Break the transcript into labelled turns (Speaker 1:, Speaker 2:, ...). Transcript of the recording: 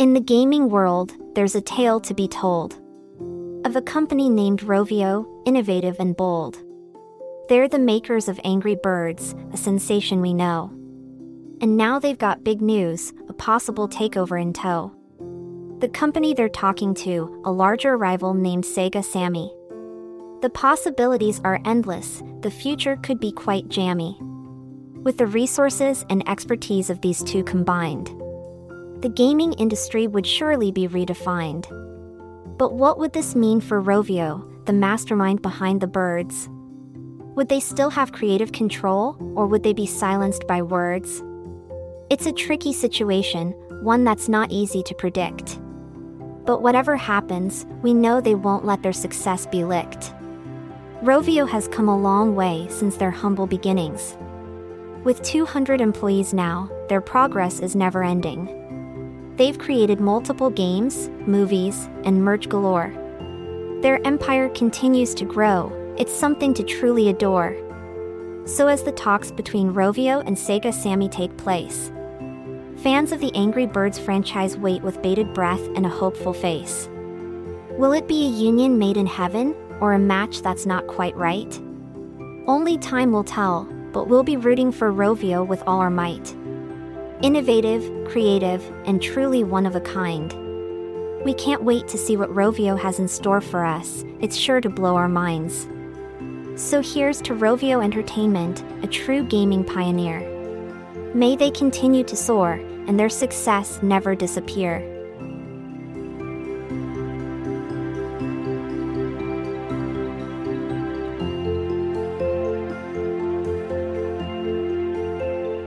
Speaker 1: In the gaming world, there's a tale to be told of a company named Rovio, innovative and bold. They're the makers of Angry Birds, a sensation we know. And now they've got big news, a possible takeover in tow. The company they're talking to, a larger rival named Sega Sammy. The possibilities are endless, the future could be quite jammy. With the resources and expertise of these two combined, the gaming industry would surely be redefined. But what would this mean for Rovio, the mastermind behind the birds? Would they still have creative control, or would they be silenced by words? It's a tricky situation, one that's not easy to predict. But whatever happens, we know they won't let their success be licked. Rovio has come a long way since their humble beginnings. With 200 employees now, their progress is never ending. They've created multiple games, movies, and merch galore. Their empire continues to grow, it's something to truly adore. So as the talks between Rovio and Sega Sammy take place, fans of the Angry Birds franchise wait with bated breath and a hopeful face. Will it be a union made in heaven, or a match that's not quite right? Only time will tell, but we'll be rooting for Rovio with all our might. Innovative, creative, and truly one of a kind. We can't wait to see what Rovio has in store for us, it's sure to blow our minds. So here's to Rovio Entertainment, a true gaming pioneer. May they continue to soar, and their success never disappear.